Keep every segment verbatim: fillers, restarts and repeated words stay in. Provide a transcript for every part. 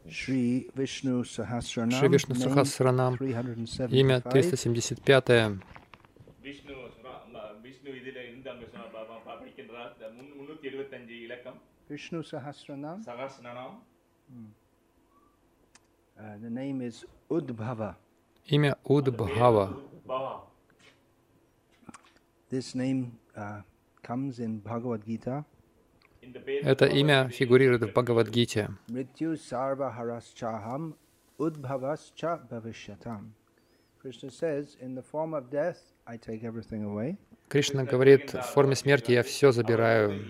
Шри Вишну Сахасранам, имя триста семьдесят пять. Vishnu Sahasranam. Uh, the name is Udbhava. Имя Удбхава. This name uh, comes in Bhagavad Gita. Это имя фигурирует в Бхагавад-гите. Mrityu sarva haraschaham udbhavascha bhavishyatam. Krishna says, in the form of death, I take everything away. Кришна говорит, в форме смерти я все забираю.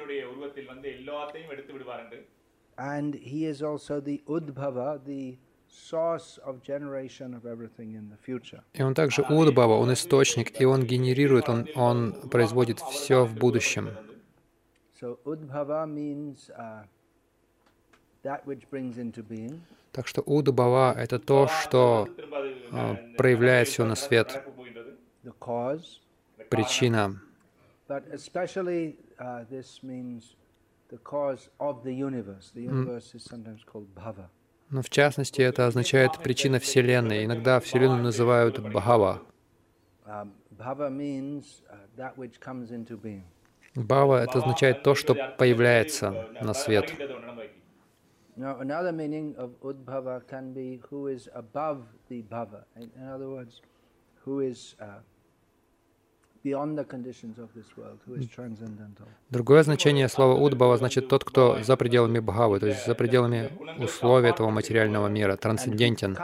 And he is also the Udbhava, the source of generation of everything in the future. И он также Удбхава, он источник, и он генерирует, он, он производит все в будущем. So Udbhava means uh, that which brings into being. Так что Удбхава — это то, что uh, проявляет все на свет. The cause. Причина. But especially uh, this means the cause of the universe. The universe is sometimes called Bhava. Но в частности это означает причина Вселенной. Иногда Вселенную называют Бхава. Uh, Bhava means uh, that which comes into being. Бхава — это означает то, что появляется на свет. Now, another meaning of Udbhava can be who is above the Bhava. In, in other words, who is uh, beyond the conditions of this world, who is transcendental. Другое значение слова Удбхава значит тот, кто за пределами Бхавы, то есть за пределами условий этого материального мира, трансцендентен.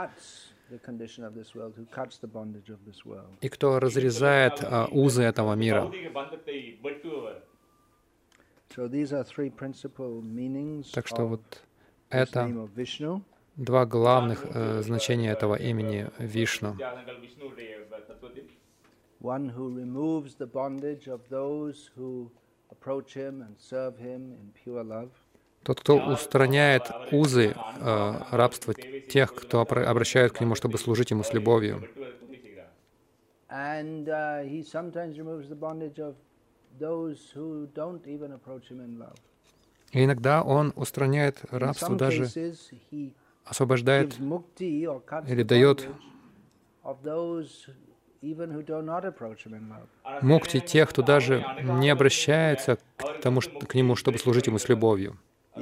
И кто разрезает uh, узы этого мира. Так что вот это два главных uh, значения этого имени Вишну. One who removes the bondage of those who approach him and serve him in pure love. Тот, кто устраняет узы э, рабства тех, кто обращает к нему, чтобы служить ему с любовью. And uh, he sometimes removes the bondage of those who don't even approach him in love. И иногда он устраняет рабство, даже освобождает или дает мукти тех, кто даже не обращается к, тому, к нему, чтобы служить ему с любовью.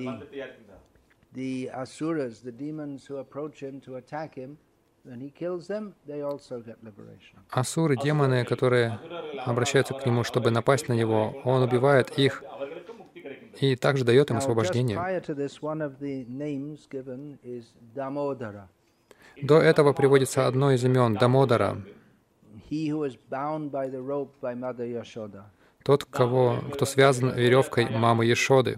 Асуры, демоны, которые обращаются к нему, чтобы напасть на него, он убивает их и также дает им освобождение. До этого приводится одно из имен — Дамодара. Тот, кого, кто связан веревкой мамы Яшоды.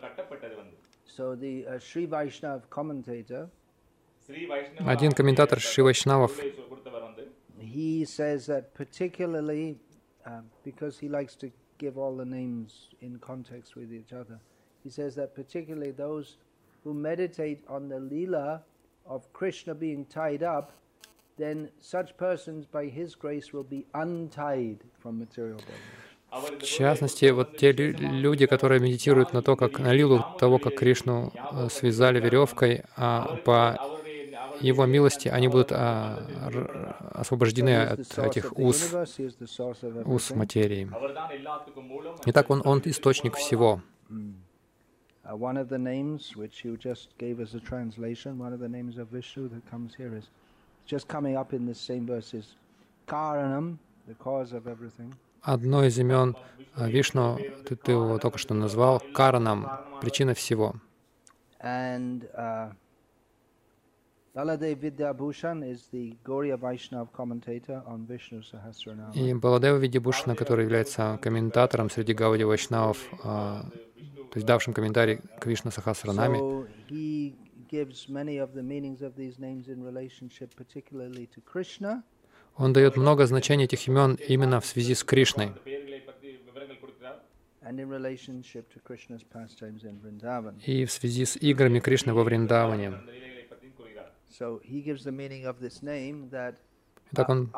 Один комментатор Шри Вайшнавов then such persons by his grace will be untied from material bondage. В частности, вот те люди, которые медитируют на то, как на лилу того, как Кришну связали веревкой, а по его милости они будут а, освобождены от этих уз, уз материи. Итак, он, он источник всего. One of the names which you just gave as a translation, one of the names of Vishnu that comes here is just coming up in this same verse is Karanam, the cause of everything. Одно из имен Вишну, ты, ты его только что назвал, Каранам, причина всего. And uh, Baladev Vidyabhushan is the Gauriya Vaishnav commentator on Vishnu Sahasranama. И Баладева Видябхушана, который является комментатором среди Гаудия Вайшнавов, то есть давшим комментарий к Вишну Сахасранаме. So he gives many of the meanings of these names in relationship particularly to Krishna. Он дает много значений этих имен именно в связи с Кришной и в связи с играми Кришны во Вриндаване. Итак, он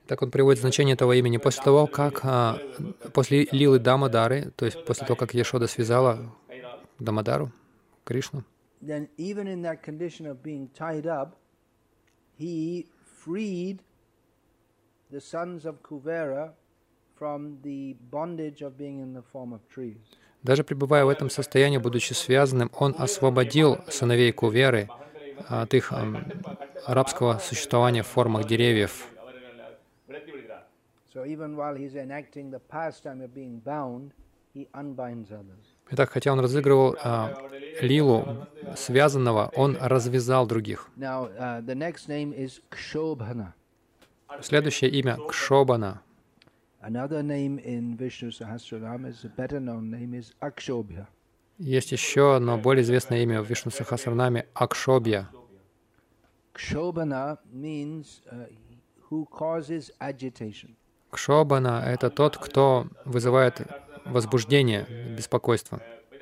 Так он приводит значение этого имени. После того, как, а, после лилы Дамодары, то есть после того, как Яшода связала Дамодару, Кришну, then even in that condition of being tied up, he freed the sons of Kuvera from the bondage of being in the form of trees. даже пребывая в этом состоянии, будучи связанным, он освободил сыновей Куверы от их ам, рабского существования в формах деревьев. So even while he's enacting the pastime of being bound, he unbinds others. Итак, хотя он разыгрывал а, лилу связанного, он развязал других. Now, uh, the next name is Kshobhana. Следующее имя — Кшобана. Another name in Vishnu Sahasranam is a better known name is Akshobhya. Есть еще одно более известное имя в Вишну Сахасранаме — Акшобья. Kshobhana means uh, who causes agitation. Кшобана — это тот, кто вызывает возбуждение, беспокойство.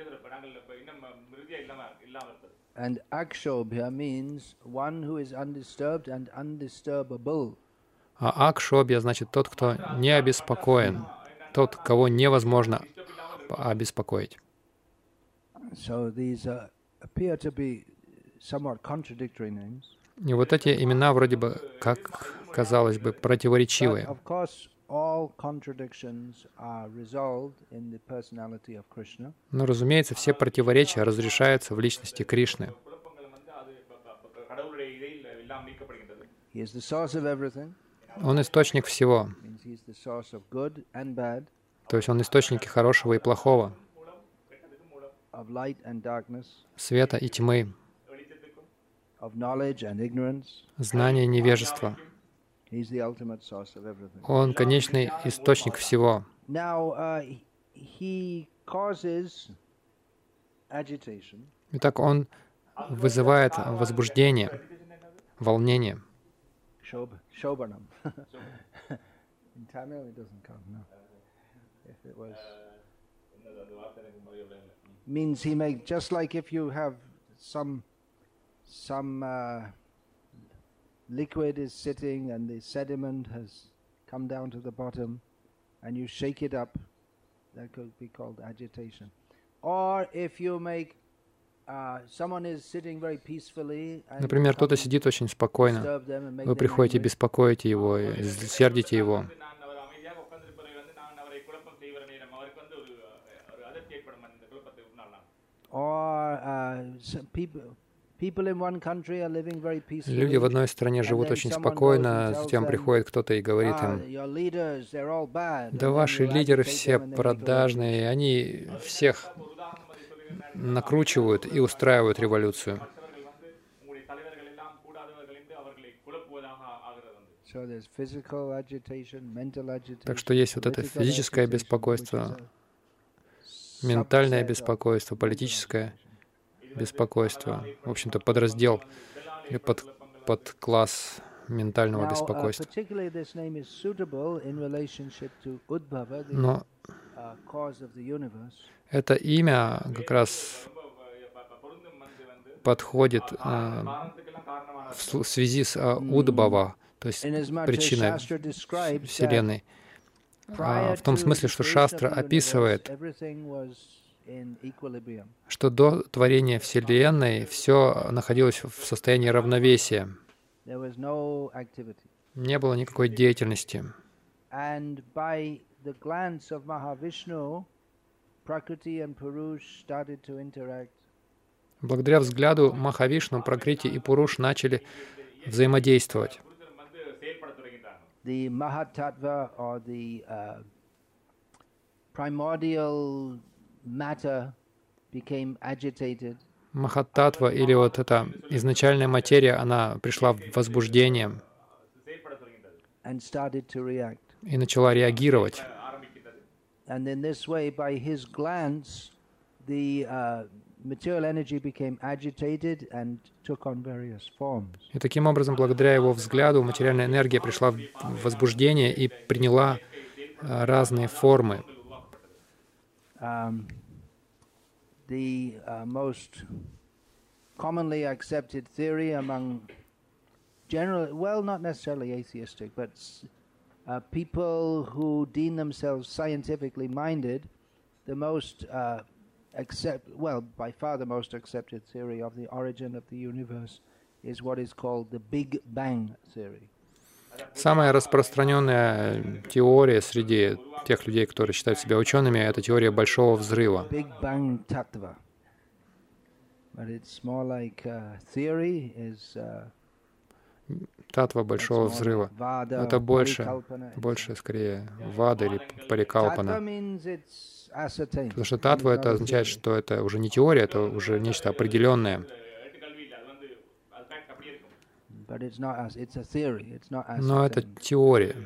And Akshobhya means one who is undisturbed and undisturbable. А Акшобья значит тот, кто не обеспокоен, тот, кого невозможно обеспокоить. So these uh, appear to be somewhat contradictory names. И вот эти имена вроде бы, как казалось бы, But противоречивые. of course, all contradictions are resolved in the personality of Krishna. Но, разумеется, все противоречия разрешаются в личности Кришны. He is the source of everything. Он источник всего, Means he is the source of good and bad, то есть он источник и хорошего, и плохого, of light and darkness, света и тьмы, of knowledge and ignorance. знания и невежества. He is the ultimate source of everything. Он конечный источник всего. Now, uh, he causes agitation Итак, он вызывает возбуждение, волнение. Shob, Shobanam. In Tamil, it doesn't come, no. If it was. Means he makes, just like if you have some, some uh, liquid is sitting and the sediment has come down to the bottom and you shake it up, that could be called agitation. Or if you make Uh, someone is sitting very peacefully and Например, you кто-то come сидит очень спокойно, disturb them and make вы them приходите, angry. беспокоите его, и сердите его. Or uh, some people, people in one country are living very peacefully. Люди в одной стране живут очень спокойно, затем приходит кто-то и говорит Ah, им: your leaders, they're all bad. да And then ваши you лидеры agitate все them and they make a продажные, они всех накручивают и устраивают революцию. So there's physical agitation, mental agitation, Так что есть вот это political физическое agitation, беспокойство, which is a ментальное subset of беспокойство, политическое беспокойство, в общем-то, подраздел или под, подкласс ментального Now, uh, беспокойства. particularly this name is suitable in relationship to Udbhava, the Но uh, cause of the universe. это имя как раз подходит а, в сл- в связи с а, Удбхава, то есть Inasmuch as причиной Shastra describes that Вселенной. А, prior в том to смысле, the что creation Шастра of the universe, описывает, everything was in equilibrium. что до творения Вселенной все находилось в состоянии равновесия. There was no activity. Не было никакой деятельности. And by the glance of Mahavishnu, Prakriti and Purush started to interact. Благодаря взгляду Махавишну, Пракрити и Пуруш начали взаимодействовать. The Mahatattva, or the uh, primordial matter, became agitated. Махаттатва, или вот эта изначальная материя, она пришла в возбуждение And started to react. и начала реагировать. And in this way, by his glance, the uh, material energy became agitated and took on various forms. И таким образом, благодаря его взгляду, материальная энергия пришла в возбуждение и приняла а, разные формы. Um, the uh, most commonly accepted theory among general, well, not necessarily atheistic, but s- uh, people who deem themselves scientifically minded, the most uh, accept, well, by far the most accepted theory of the origin of the universe is what is called the Big Bang theory. Самая распространенная теория среди тех людей, которые считают себя учеными, это теория Большого Взрыва. Big Bang Tattva. But it's more like uh, theory is uh, Татва Большого Взрыва. Это больше, больше скорее вада или парикалпана. Потому что татва это означает, что это уже не теория, это уже нечто определенное. Но это теория.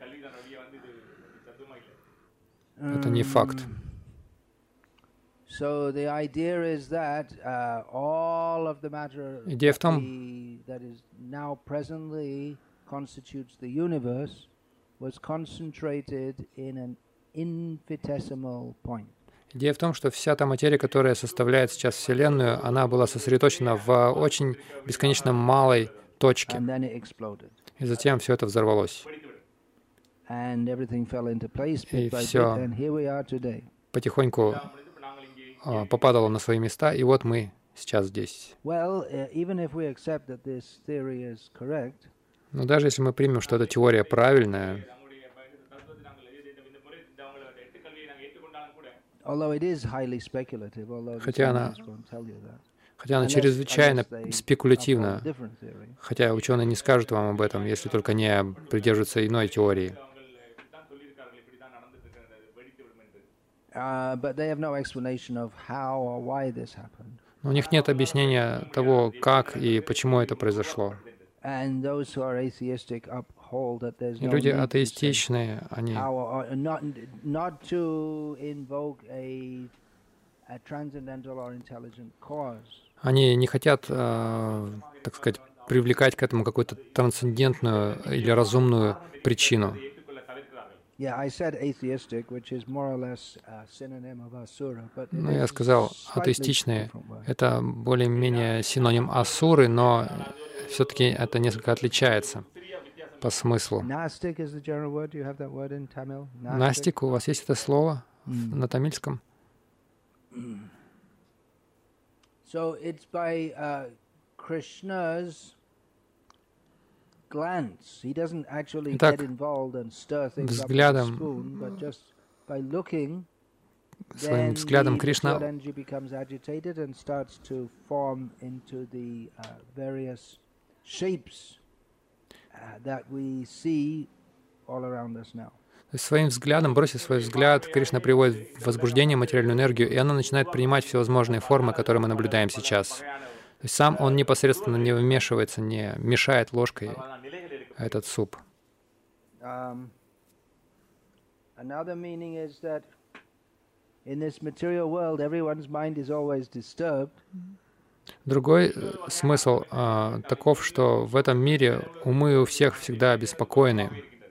Это не факт. Идея в том, Идея в том, что вся та материя, которая составляет сейчас Вселенную, она была сосредоточена в очень бесконечно малой точке. И затем все это взорвалось. И все потихоньку а, попадало на свои места, и вот мы сейчас здесь. Но даже если мы примем, что эта теория правильная, хотя она, хотя она чрезвычайно спекулятивна, хотя ученые не скажут вам об этом, если только не придерживаются иной теории. Но у них нет объяснения того, как и почему это произошло. И люди атеистичные, они Они не хотят, э, так сказать, привлекать к этому какую-то трансцендентную или разумную причину. Ну, я сказал, атеистичные — это более-менее синоним асуры, но все-таки это несколько отличается по смыслу. Настик, у вас есть это слово на тамильском? So it's by uh, Krishna's glance. He doesn't actually Итак, get involved and stir things up with a взглядом, spoon, but just by looking, своим then взглядом the Кришна material energy becomes agitated and starts to form into the uh, various shapes uh, that we see all around us now. Своим взглядом, бросив свой взгляд, Кришна приводит в возбуждение материальную энергию, и она начинает принимать всевозможные формы, которые мы наблюдаем сейчас. То есть сам он непосредственно не вмешивается, не мешает ложкой этот суп. Другой смысл а, таков, что в этом мире умы у всех всегда обеспокоены.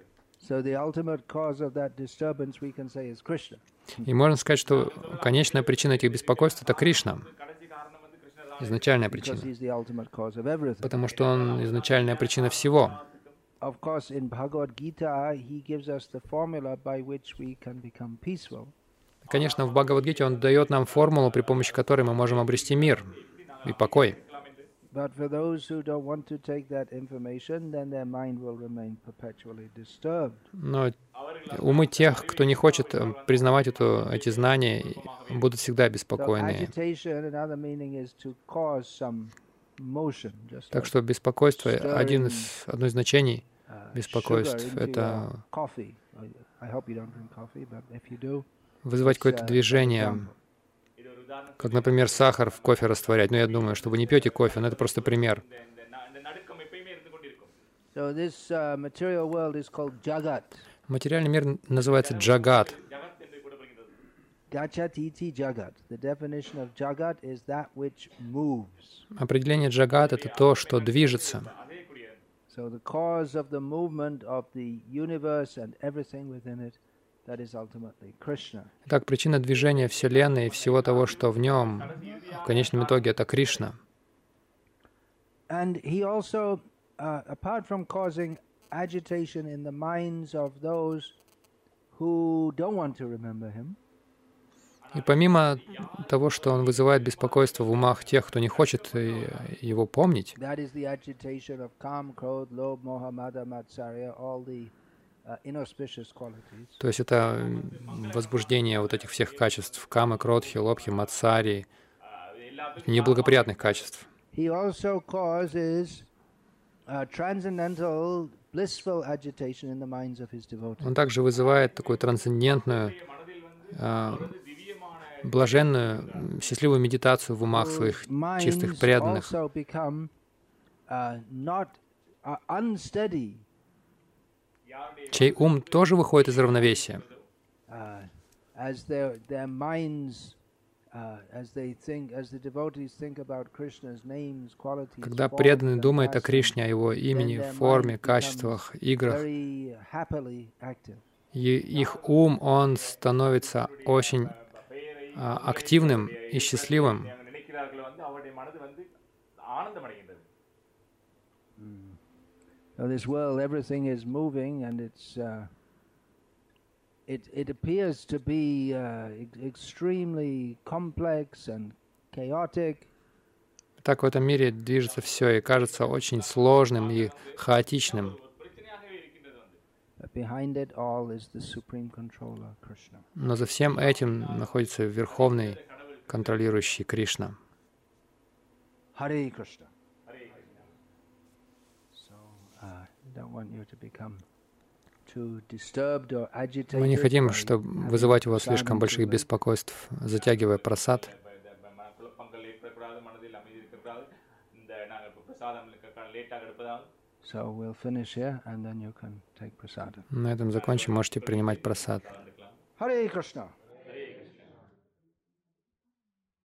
И можно сказать, что конечная причина этих беспокойств — это Кришна, изначальная причина, потому что Он изначальная причина всего. Конечно, в Бхагавад-гите Он дает нам формулу, при помощи которой мы можем обрести мир и покой. Но умы тех, кто не хочет признавать эту, эти знания, будут всегда беспокойны. Так что беспокойство, один из, одно из значений беспокойств — это вызвать какое-то движение, как, например, сахар в кофе растворять. Но я думаю, что вы не пьете кофе, но это просто пример. Материальный мир называется джагат. Определение джагат — это то, что движется. Итак, причина движения Вселенной и всего того, что в нем, в конечном итоге, это Кришна. agitation in the minds of those who don't want to remember him. И помимо того, что он вызывает беспокойство в умах тех, кто не хочет его помнить, That is the agitation of Kam, Krodh, Lobh, Moha, Mada, Matsarya, all the uh, inauspicious qualities. то есть это возбуждение вот этих всех качеств, камы, кродхи, лобхи, матсари, неблагоприятных качеств. He also causes uh, transcendental, blissful agitation in the minds of his devotees. Он также вызывает такую трансцендентную, а, блаженную, счастливую медитацию в умах своих чистых преданных, Also become uh, not uh, unsteady, чей ум тоже выходит из равновесия. uh, as their their minds, uh, as they think, as the devotees think about Krishna's names, qualities. Когда forms, преданный and думает о pastimes, Кришне, о его имени, then their форме, mind качествах, becomes играх, very happily active. и их ум, он становится очень а, активным и счастливым. Now, this world, everything is moving, and it's uh, it it appears to be uh, ex- extremely complex and chaotic. Так в этом мире движется все и кажется очень сложным и хаотичным. But behind it all is the supreme controller, Krishna. Но за всем этим находится Верховный контролирующий Кришна. Hare Krishna. So, uh, I don't want you to become too disturbed or agitated. Мы не хотим, by чтобы having вызывать у вас prasadam слишком too больших late. беспокойств, затягивая прасад. So we'll finish here, and then you can take prasada. На этом закончим, можете принимать прасад. Hare Krishna.